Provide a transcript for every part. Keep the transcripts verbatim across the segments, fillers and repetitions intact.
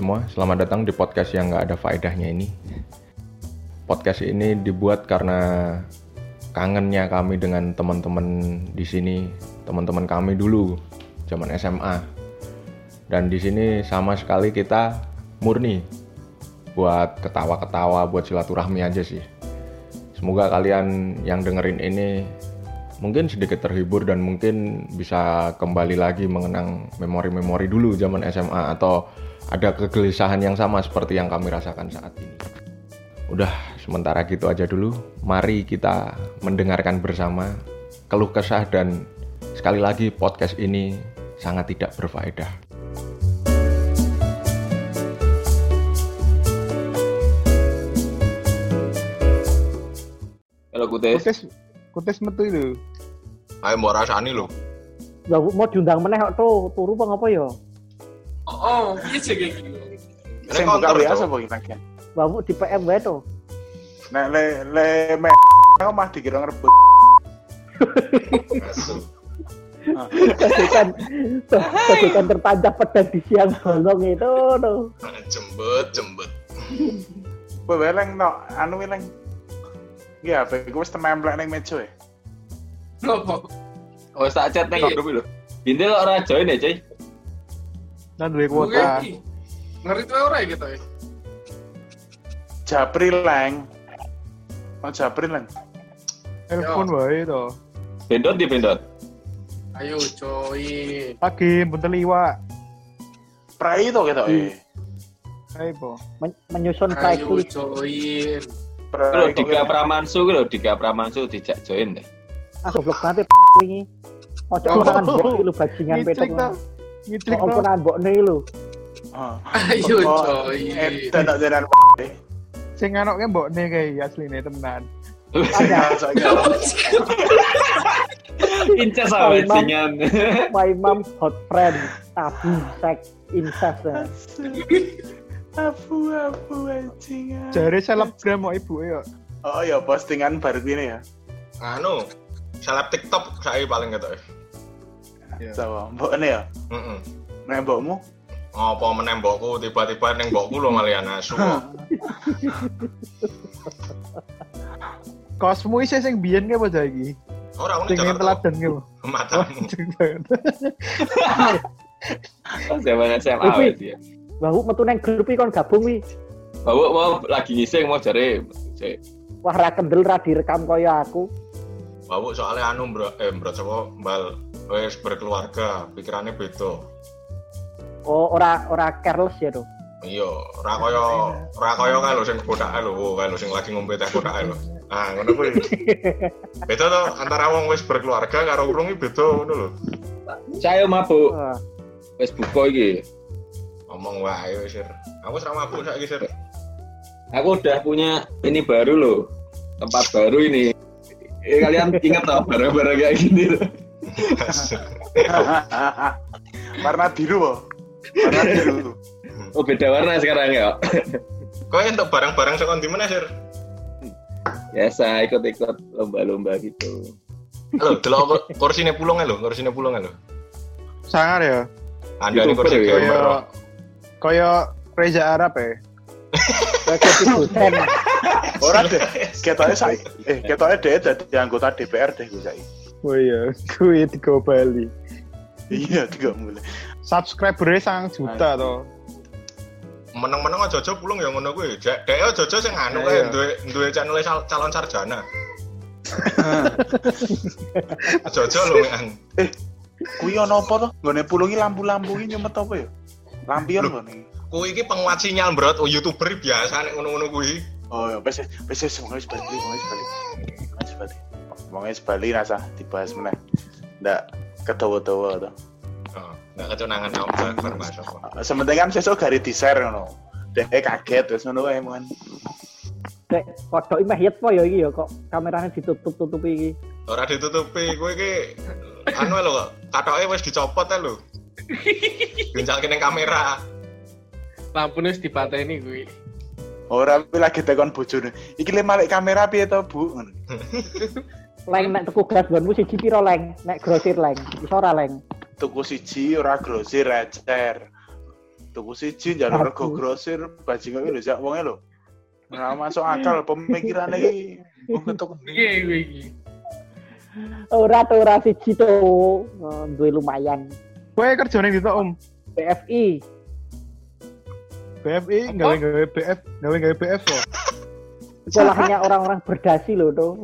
semua, selamat datang di podcast yang gak ada faedahnya ini. Podcast ini dibuat karena kangennya kami dengan teman-teman di sini, teman-teman kami dulu, zaman S M A. Dan di sini sama sekali kita murni buat ketawa-ketawa, buat silaturahmi aja sih. Semoga kalian yang dengerin ini mungkin sedikit terhibur dan mungkin bisa kembali lagi mengenang memori-memori dulu zaman S M A atau ada kegelisahan yang sama seperti yang kami rasakan saat ini. Udah, sementara gitu aja dulu. Mari kita mendengarkan bersama keluh kesah dan sekali lagi podcast ini sangat tidak berfaedah. Halo Kutes. Kutes, Kutes metu itu. Ayo mbok rasani lho. Lah mau diundang meneh kok tuh, turu apa ngapa ya? Oh, oh, piye sih iki? Sing buka W A sapa iki bagian? Bawu di P M wae to. Nek le le me aku mah dikira ngerebut. Bagikan bagikan tertancap pedang di siang bolong itu tuh. Jembet, jembet. Kowe weleng no, anu weleng. Iya, apa iku wis tememplek ning meja e. Ngopo? Oh, tak chat ning grup lho. Bintil kok ora join ya, Cuy? Nah, duwe kuota. Ngeri tuh ora ya gitu ya. Japri leng. Oh, Japri leng. Telepon wae to. Bendot di bendot. Ayo coy. Pagi buntel iwak. Prai to ketok e. Ayo po. Men- menyusun Ayo checklist. coy. Lho Dika Pramansu ku lho, Dika Pramansu dijak join deh. Ah goblok banget wingi. Ojo makan mbok iki lho bajingan petok. Ngitrik Kok to. opo mbokne lho. Oh. Ayo coy. Eh, dadak jalan. Sing anoke mbokne kae asline temenan. Ada Incest sama bajingan. my mom hot friend, tabu, seks, incest. Abu abu anjing. Jare selebgram kok ibuke yo. Oh ya postingan baru ini ya. Anu, seleb TikTok saya paling ketok. Sawa, mbokne ya. Heeh. Nek mbokmu Apa meneh mbokku tiba-tiba ning mbokku lho malian asu. Kosmu isih sing biyen ke apa iki? Ora ngono Sing Jakarta. teladan ke apa? Matamu. Zaman S M A wae dia. Bawu metu nang grup iki kon gabung wi. Bawa mau lagi ngising mau jare. Cek. Wah ra kendel ra direkam kaya aku. Bawu soalnya anu bro, eh bro sapa mbal wis berkeluarga, pikirannya beda. Oh, ora ora careless ya to. Iya, ora kaya ora kaya kae lho sing kodake lho, kae lho sing lagi ngombe teh kodake lho. Ah, ngono kuwi. Beda to antara wong wis berkeluarga karo urung iki beda ngono lho. Saya mabuk. Wah. Wis buka iki. Ngomong wae wis, Sir. Aku wis ra mabuk saiki, Sir. Aku udah punya ini baru loh. Tempat baru ini. Eh, kalian ingat tau barang-barang kayak gini loh. warna biru kok. Warna biru. Oh beda warna sekarang ya. Kowe entuk barang-barang saka ndi meneh, Sir? Biasa ikut-ikut lomba-lomba gitu. Lho, delok kursine pulunge lho, kursine pulunge lho. Sangar ya. Andane YouTuber kursi ya, gamer. Kaya kaya Reza Arab ya. Kayak dosen. Ora deh. Ketoke saiki. Eh, ketoke dhewe dadi anggota D P R deh gue saiki. Oh iya, kuwi tiga Bali. Iya, tiga mulai. Subscriber-e sangat juta to. Meneng-meneng aja aja pulung ya ngono kuwi. Dek aja aja sing anu Iya, kae iya. duwe duwe channel calon sarjana. Aja aja lho men. Eh, kuwi ono apa to? Nggone pulungi lampu-lampu iki nyumet apa ya? Lampion kok nih. Kuwi iki penguat sinyal, Bro. Oh, YouTuber biasa nek ngono-ngono kuwi. Oh ya, wis wis wis wong wis bali, wong wis bali. Wis bali. Wong wis bali rasa dibahas meneh. Ndak kedawa-dawa to. Oh, enggak keconangan aku bareng bahasa apa. Sementing kan sesuk gari di-share ngono. Dek kaget wis ngono wae mon. Dek, kodok meh yet po ya iki ya kok kamerane ditutup-tutupi iki. Ora ditutupi, kowe iki anu lho kok, katoke wis dicopot ae lho. Ginjalke ning kamera. Lampune wis dipateni kuwi. Ora kuwi lagi tekon bojone. Iki le malik kamera piye to, Bu? Ngono. Leng nek tuku gas gonmu siji piro leng? Nek grosir leng. Iso ora leng? Tuku siji ora grosir ecer. tuku siji njaluk rego grosir bajingan iki lho sak wonge lho. Ora masuk akal pemikirane iki. Wong ketok Piye kowe iki? Ora tuh ora siji tuh. Eh, duwe lumayan. Kowe kerja ning ndi to, Om? B F I. B F I gawe-gawe B F, gawe-gawe B F kok. Sekolahnya orang-orang berdasi loh tuh.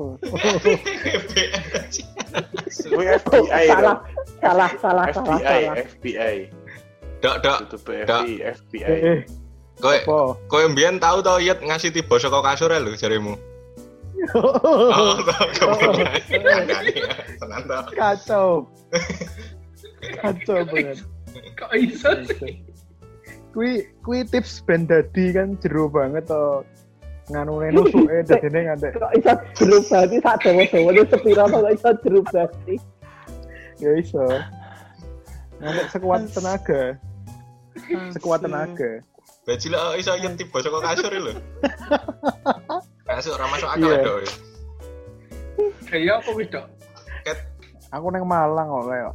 Kuwi F B I salah, salah, salah, F B salah, I salah. F B I Dak dak. itu B F I F B I Eh, Kowe apa? kowe mbiyen tau to Yet ngasih tiba saka kasur lho jaremu. Oh, kemudian. Tenan to. Kacau. Kacau banget. Kok iso sih? Kui kui tips ben dadi kan jero banget to. Nganune nusuke dadine ngantek. Kok iso jeruk berarti sak dawa-dawane sepira kok iso jeruk berarti. Ya iso. Ngantek sekuat tenaga. Sekuat tenaga. Baji lah iso Yet tiba saka kasur lho. Kasur ora masuk akal Iya. dok. Kayak apa kuwi, Dok? Aku neng Malang kok kayak.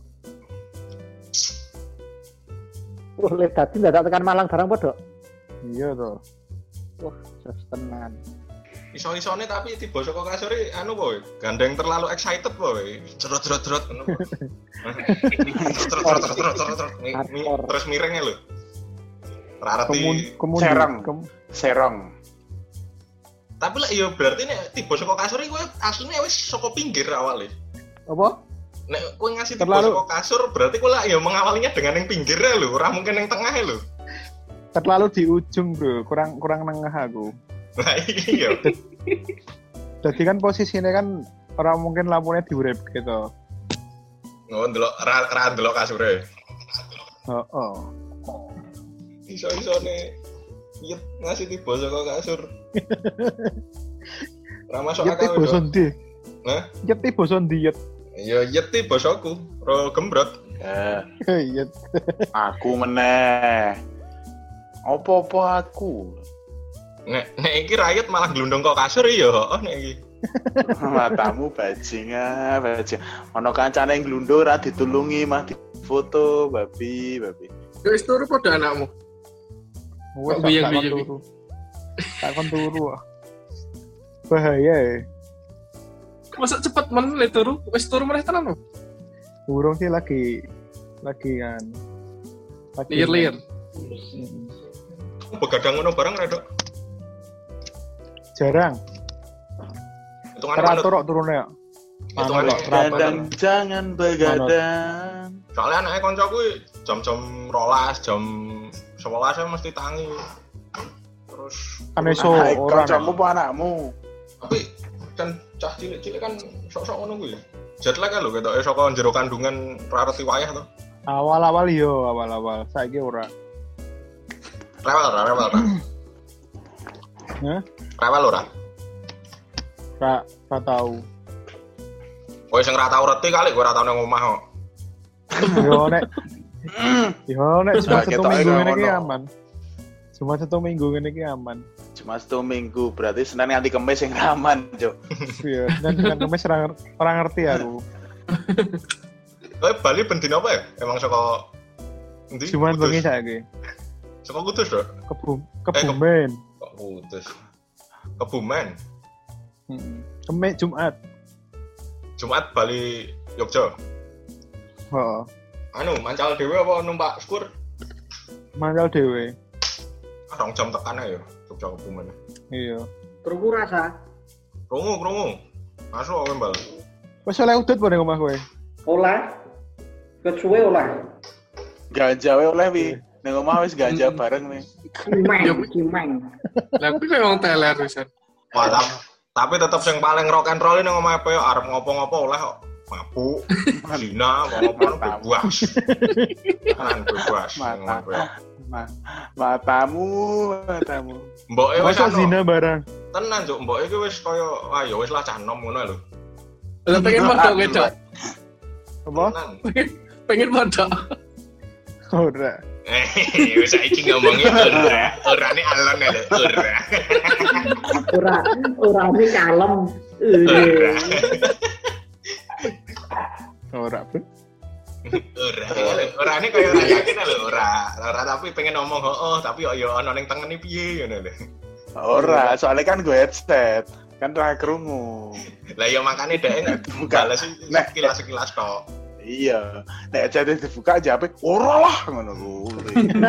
Wah, lek dadi ndak tekan Malang barang padha. Iya to. Wah, jas tenan. Iso-isone tapi tiba saka kasur anu boy, gandeng terlalu excited boy. Cerot-cerot-cerot ngono. Cerot-cerot-cerot-cerot. Terus miringnya lho. Ora ngerti. Kemudian Serang. kem- serong Tapi lah iya berarti nek tiba saka kasur iki kowe asline wis saka pinggir awale. apa? Nek kowe ngasih tiba Terlalu- saka kasur berarti kowe lah ya mengawalinya dengan yang pinggirnya lho, ora mungkin yang tengahnya lho. Terlalu di ujung, Bro. Kurang kurang nengah aku. Nah iya. Jadi kan posisinya kan orang mungkin lampunya diurep gitu. Oh, ndelok ra ra ndelok kasure. Oh, oh. Iso-isone Yet ngasih tiba saka kasur. Ora masuk Yeti akal. boson di. Hah? Yeti boson di yet. Ya Yet ti bosoku, ro gembrot. ya Yet. aku meneh opo-opo aku Nek nek iki rakyat malah glundung kok kasur ya, oh nek iki. matamu bajingan bajingan ono kancane glundung ora ditulungi mah difoto babi babi Wis turu padha anakmu. Wes Kok buyang tak kon buyang turu. Tak kon turu. ah. Bahaya ya. Masa cepet men le turu? Wis turu meneh tenan lho. Burung sih lagi lagi kan. Lagi Lir-lir. Mm. Begadang ngono bareng ra, Dok? Jarang. Hitungane manut. Teratur kok turunnya. Hitungane Manut, rapat. kadang jangan begadang Soalnya anaknya koncoku jam-jam rolas, jam sebelas mesti tangi. Terus Kan iso Hai, orang. kancamu apa anakmu tapi kan cah cilik-cilik kan sok-sok ngono kuwi. Jet lag kan lho ketoke saka jero kandungan ra reti wayah to. Awal-awal yo, awal-awal. Saiki ora. Rewel ora, rewel ora. Hah? Rewel ora. Ra ra tahu. Kowe sing ra tau reti kali kowe ora tau nang omah kok. Yo nek Yo nek cuma Nah, satu ketoknya minggu nggak ngene iki ono. aman. Cuma satu minggu ngene iki aman. cuma satu minggu berarti Senin nganti Kamis yang aman Cuk. Iya, dan dengan kemis ora nger- ora ngerti aku. Kowe Bali ben dino apa ya? Emang saka endi? Cuman Kudus? bengi saiki. Saka Kudus, Dok. Kebum ke- Kebumen. Kok Kudus. Kebumen. Heeh. Kemis Jumat. Jumat Bali Yogya. Heeh. Anu, mancal dhewe apa numpak skuter? Mangkal dhewe. Ah, rong jam tekan ae ya, Jogja Kebumen. Iya. Krungu rasa. Krungu, krungu. Masuk kowe, Mbal. Wes oleh udut po ning omah kowe. Oleh. Kecuwe oleh. Ganja wae oleh wi ning omah wis ganja bareng nih Cimeng, cimeng. Lah kuwi koyo wong teler wisan. Wah, tap- tapi tetep yang paling rock and roll ini ngomong apa ya, arep ngopo-ngopo oleh kok. Mabuk, zina, ngopo-ngopo bebas. Kan bebas. Mata. ngomong apa ya. Ma- matamu matamu Mboke wis Masa anu, zina barang. tenan Cuk, mboke iki wis kaya ah ya wis lah cah nom ngono lho. Lah pengen padha kowe, Dok. Apa? Tenan. Pengen padha. Ora. Eh, wis saiki ngomongin ora. Orane alon lho, ora. Ora, ora ini kalem. Ora. Ora, Bro. Ora, ora ini kayak ora yakin lho, ora. Ora tapi pengen ngomong oh, tapi yo yo ono ning tengene piye ngono lho. Ora, soalnya kan gue headset. Kan ra krungu. Lah ya makane dhek enggak bales sekilas-sekilas tok. Iya, nek headset dibuka jawabe ora lah ngono kuwi.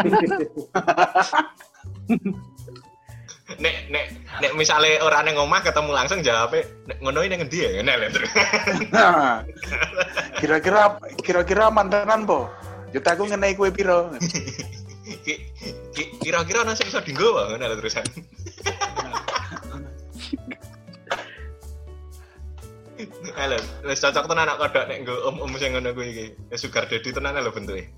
nek nek nek misale ora ning omah ketemu langsung jawabe ngono iki ning endi ya ngene lho. Nah, kira-kira kira-kira mantenan po. Yo tak aku ngenai kowe piro? Kira-kira ana sing iso dienggo wae ngene lho terusan. Halo, wis cocok tenan anak kodok nek nggo om-om sing ngono kuwi iki. Wis sugar daddy tenan lho bentuke.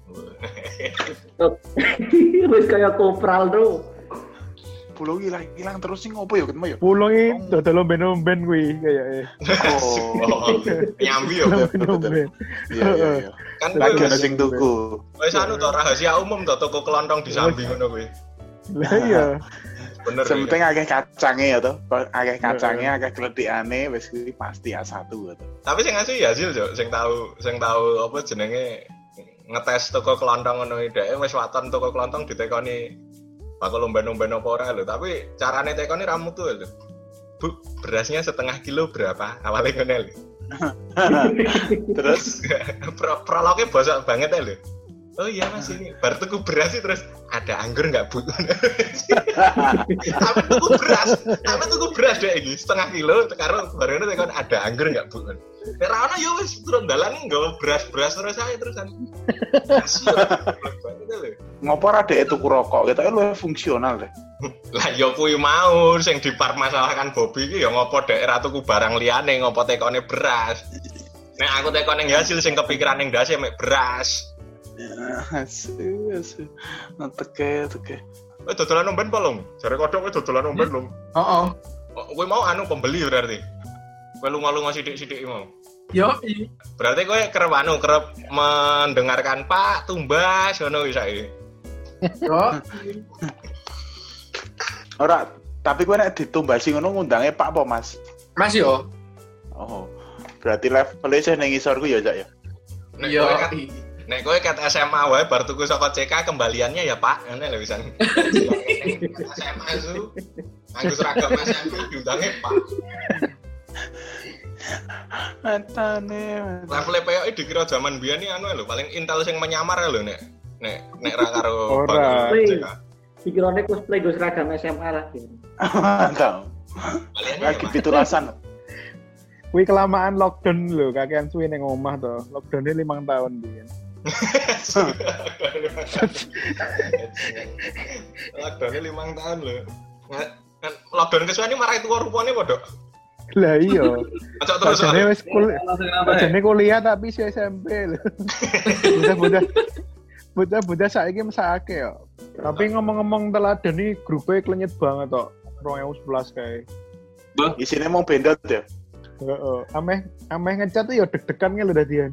Wis kaya kopral tuh. Pulau hilang-hilang terus sih ngopo ya ketemu ya? Pulau ini dodol lomben-lomben kuwi kayaknya. Oh, nyambi ya. Iya iya iya. Kan lagi ana sing tuku. Wis anu to rahasia umum to toko kelontong di Sambi ngono kuwi. Lah iya. Bener. Sementing akeh kacange ya to. Akeh kacange, akeh gledhikane wis kuwi pasti A satu to. Tapi sing asli ya Zil, Cuk. Sing tahu sing tahu apa jenenge ngetes toko kelontong ngono iki dhek wis waton toko kelontong ditekoni bakal lomba-lomba apa ora lho, tapi carane tekone ra mutu lho. Bu, berasnya setengah kilo berapa? Awalnya ngene lho. Terus pro prologe bosok banget lho. Oh iya Mas ini bar tuku beras sih terus ada anggur enggak Bu? Tapi tuku beras, tapi tuku beras deh iki setengah kilo karo barene tekon ada anggur enggak Bu? Nek ra ono ya wis turun dalan nggawa beras-beras terus ae terusan. Ngopo ra dhek tuku rokok ketoke luwih fungsional deh. Lah ya kuwi mau sing dipermasalahkan Bobby iki ya ngopo dhek ra tuku barang liyane ngopo tekone beras. Nek aku tekone hasil sing kepikiran ning ndase mek beras. Asu asu. Teke teke. Eh dodolan omben apa, Lung? Jare kodhok kowe dodolan omben, Lung. Heeh. Kowe mau anu pembeli berarti. Kowe lunga-lunga sithik-sithik mau. Yo, i. Berarti kowe kerep anu kerep mendengarkan Pak Tumbas ngono wis saiki. Yo. Ora, tapi kowe nek ditumbasi ngono ngundange Pak apa, Mas? Mas yo. Oh. Berarti levelnya sih ning ngisor ku ya, Cak ya. Nek Yo. kowe kat nek kowe kat S M A wae bar tuku saka C K kembaliannya ya Pak, ngene lho wisan. S M A itu nganggo seragam S M P diundange Pak. Matane. Level P O I dikira zaman biyen iki anu lho, paling intel sing menyamar lho nek nek nek ra karo Ora. C K. Pikirane cosplay go seragam S M A lagi. Mantap. Lagi pitulasan. Kuwi kelamaan lockdown lho, kakean suwe ning omah to. Lockdown-e limang tahun biyen. Lockdown-e limang tahun lho. Kan lockdown kesuwen iki marai tuwa rupane padha. Lah iya. Acak terus. Jane wis kuliah. Jane kuliah tapi si S M P lho. Bocah-bocah bocah-bocah saiki mesake yo. Tapi ngomong-ngomong teladan iki grupe klenyet banget tok. dua ribu sebelas kae. Isine mau bendot ya. Heeh, ameh ameh ngecat tuh ya deg-degan lho dadian.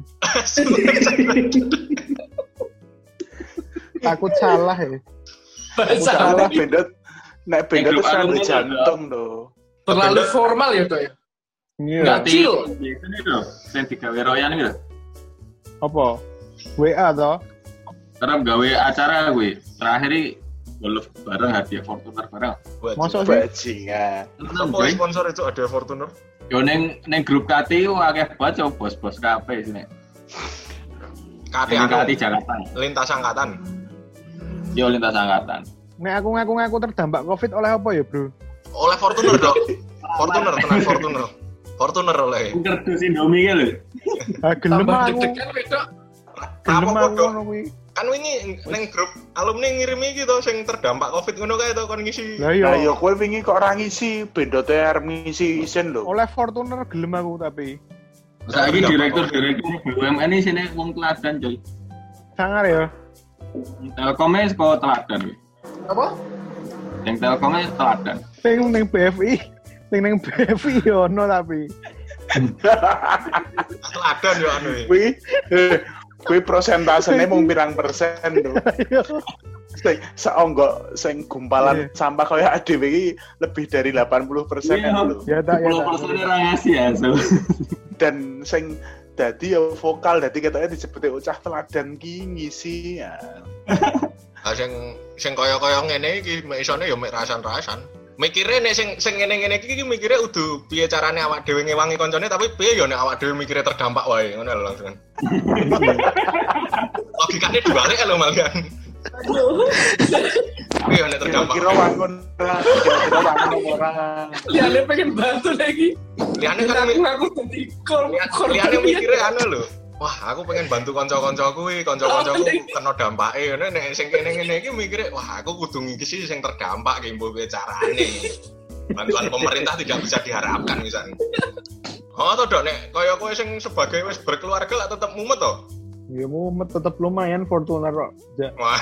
Takut salah ya. Salah bendot. Nek bendot wis sampe jantung to. Terlalu formal ya toh ya. Iya. Enggak chill. Biasane lho, sing digawe royan iki lho. Apa? W A toh? Kerap gawe acara gue. Terakhir iki golf bareng hadiah Fortuner bareng. Masa sih? Bajingan. Apa sponsor itu ada Fortuner? Yo ning ning grup K T U akeh banget yo bos-bos kabeh sini. K T Ning K T anu Jakarta. lintas angkatan. Yo lintas angkatan. Nek aku ngaku-ngaku terdampak Covid oleh apa ya, Bro? Oleh Fortuner, Dok. Fortuner tenan Fortuner. Fortuner oleh. Kerdus Indomie ki lho. Ah gelem Tambah aku. deg-degan wedok. Gelem Apa, aku Dok? ngono kuwi. Kan wingi ning grup alumni ngirim iki to sing terdampak Covid ngono kae to kon ngisi. Lah Lah iya. yo kowe wingi kok ora ngisi bendote arep ngisi isin lho. Oleh Fortuner gelem aku tapi. Saiki direktur-direktur B U M N iki sini wong teladan, coy. Sangar ya. Telkomnya sekolah teladan. Apa? Yang Telkomnya teladan. Sing ning B F I, sing ning B F I yo ono tapi. Teladan yo anu iki. Kuwi kuwi prosentasene mung pirang persen lho. Sing seonggo sing gumpalan sampah kaya A D W iki lebih dari delapan puluh persen lho. Ya tak ya. sepuluh persen ora ngasih ya, so. Dan sing dadi ya vokal, dadi ketoknya disebutnya ucah teladan ki ngisi ya. Ah sing sing kaya-kaya ngene iki mek isone ya mek rasan-rasan. Mikire nek sing sing ngene-ngene iki mikire udu piye carane awak dhewe ngewangi koncone tapi piye ya nek awak dhewe mikire terdampak wae ngono lho langsung. Logikane dibalik lho malian. Piye nek terdampak. Kira wangun ora, kira wangun ora. Liane pengen bantu lagi. Liane kan aku aku dadi kor. Liane mikire anu lho. Wah, aku pengen bantu kanca-kancaku iki, kanca-kancaku kena dampake ngono nek sing kene-kene iki mikire, wah aku kudu ngisi sing terdampak ki mbok piye carane. Bantuan pemerintah tidak bisa diharapkan misalnya. Oh, toh dok nek kaya kowe sing sebagai wis berkeluarga lah tetep mumet toh? Ya mumet tetep lumayan Fortuner kok. Ja. Wah.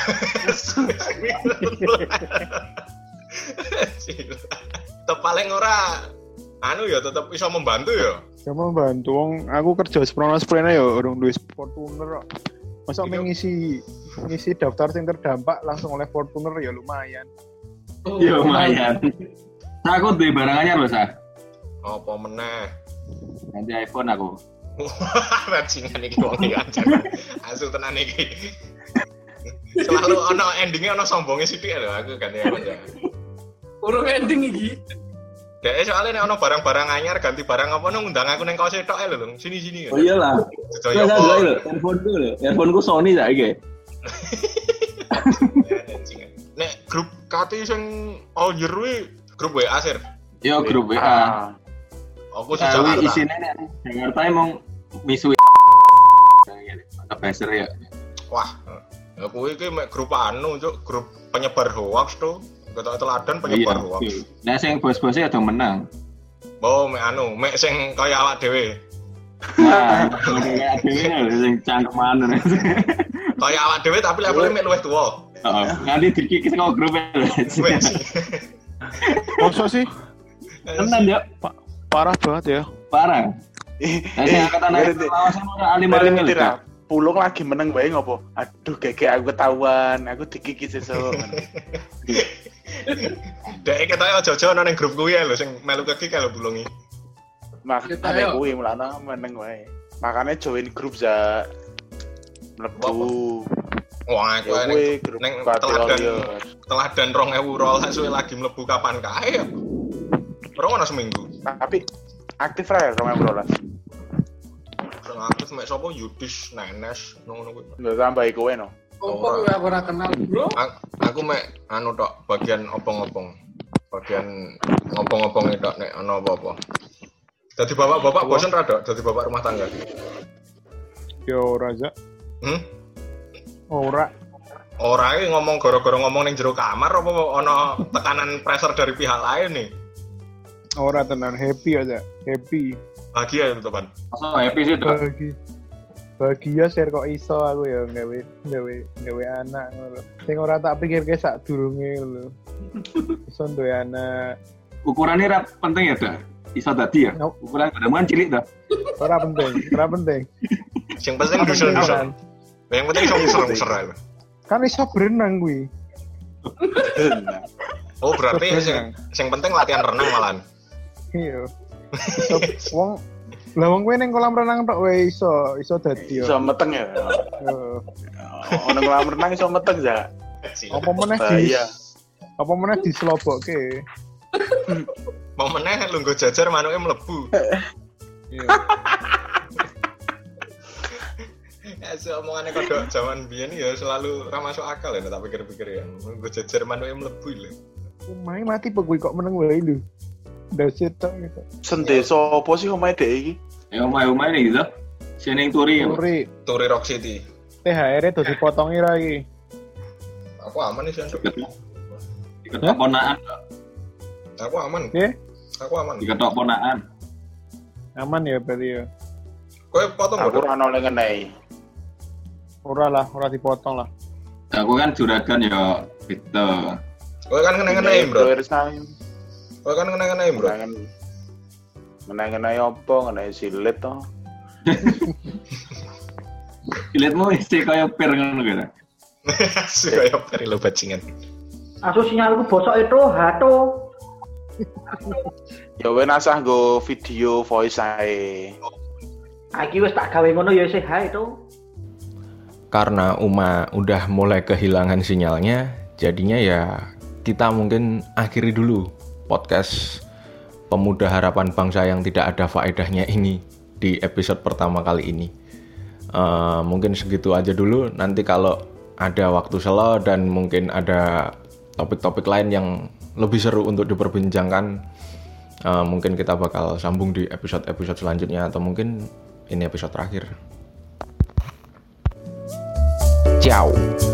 Tetep paling ora anu ya tetep bisa membantu ya. Cuma bantu wong aku kerja seprono-sprene ya urung duwe Fortuner kok. Masa gitu. ngisi ngisi daftar sing terdampak langsung oleh Fortuner ya lumayan. Oh, ya lumayan. Nah, aku duwe barang anyar lho, Sa. Apa meneh? Nanti iPhone aku. Bajingan iki wong iki aja. Asu tenan iki. Selalu ono endinge ono sombonge sithik lho aku ganti aja. Urung ending iki. Dek soalnya nek ono barang-barang anyar ganti barang apa nang ngundang aku nang kaos tok lho, sini-sini. Oh iyalah. Sedaya apa lho, handphone ku lho. Handphone ku Sony saiki. Nek grup K T sing all year kuwi grup W A sir. Yo grup W A. Aku sih Jakarta. Isine nek Jakarta emang misu. Ada beser ya. Wah, ya kuwi iki mek grup anu, cuk, grup penyebar hoax tuh. Ketok teladan penyebar hoax. Nah sing bos-bosnya ada menang. Oh, mek anu, mek sing kaya awak dhewe. Nah, kaya dhewe lho sing cangkeman. Kaya awak dhewe tapi levelnya mek luwih tuwa. Heeh. Nanti dikikis kok grup lho. Masa sih? Tenan ya. Parah banget ya. Parah. Eh, saya angkatan lawasan ora alim-alim lho. Pulung lagi meneng bae ngopo? Aduh, gege aku ketahuan, aku dikikis sesuk. Dek ketoke aja-aja ana ning grup kuwi lho sing melu keki lho bulungi. Makane kuwi mulane meneng wae. Makane join grup za mlebu. Wah, aku ning teladan teladan dua ribu rolas suwe lagi mlebu kapan kae ya. Ora ono seminggu. Tapi aktif ra dua ribu rolas. Sing aktif mek sapa Yudis, Nenes, ngono kuwi. Lha tambah kowe no. Opo kowe aku ora kenal, Bro? Aku mek anu tok bagian opong-opong. Bagian ngopong-opong tok nek ana apa-apa. Dadi bapak-bapak bosen ra dok dadi bapak rumah tangga. Yo ora aja. Hmm? Ora. Ora iki ngomong gara-gara ngomong ning jero kamar apa ana tekanan pressure dari pihak lain nih? Ora tenan, happy aja, happy. Bahagia ya teman. Masa happy sih dok. Bahagia. Bahagia share kok iso aku ya gawe gawe gawe anak ngono. Sing ora tak pikirke sak durunge lho. Iso duwe anak. Ukurannya ra penting ya, Dak? Iso dadi ya? Ukuran kedemuan cilik dah. Ora penting, ora penting. Sing penting dusun-dusun. Yang penting iso muser-muser ae. Kan iso berenang kuwi. Oh, berarti sing sing penting latihan renang malan. Iya. Wong lah wong kowe ning kolam renang tok wae iso, iso dadi yo. Iso meteng ya. Heeh. Ono kolam renang iso meteng ya. Apa meneh di Apa meneh dislobokke. Mau meneh lungguh jajar manuke mlebu. Iya. Ya omongane kodok zaman biyen ya selalu ra masuk akal ya tak pikir-pikir ya. Lungguh jajar manuke mlebu lho. Omahe mati pekuwi kok meneng wae lho. Daset tok gitu. Sendesa apa sih omahe dhek iki? Ya omah-omah ini gitu. Seneng turi. Turi. Turi Rock City. T H R-e do dipotongi ra iki. Aku aman iki Sandro. Diketok ponaan. Aku aman. Nggih. Aku aman. Diketok ponaan. Aman ya berarti ya. Kowe potong Aku ora ono ngenai. Ora lah, ora dipotong lah. Aku kan juragan ya gitu. Kowe kan kena-kenai, Bro. Resign. Kowe kan kena-kenai, Bro. Menang-menang apa? Ngenai silet toh. Siletmu istri kaya per ngono gitu. Kaya per lo bajingan. Asu sinyalku bosok itu, hato. Ya wes asah go video voice ae. Aki wis tak gawe ngono ya isih hae to. Karena Uma udah mulai kehilangan sinyalnya, jadinya ya kita mungkin akhiri dulu podcast Pemuda Harapan Bangsa yang tidak ada faedahnya ini di episode pertama kali ini. Uh, mungkin segitu aja dulu. Nanti kalau ada waktu selo dan mungkin ada topik-topik lain yang lebih seru untuk diperbincangkan, uh, mungkin kita bakal sambung di episode-episode selanjutnya atau mungkin ini episode terakhir. Ciao.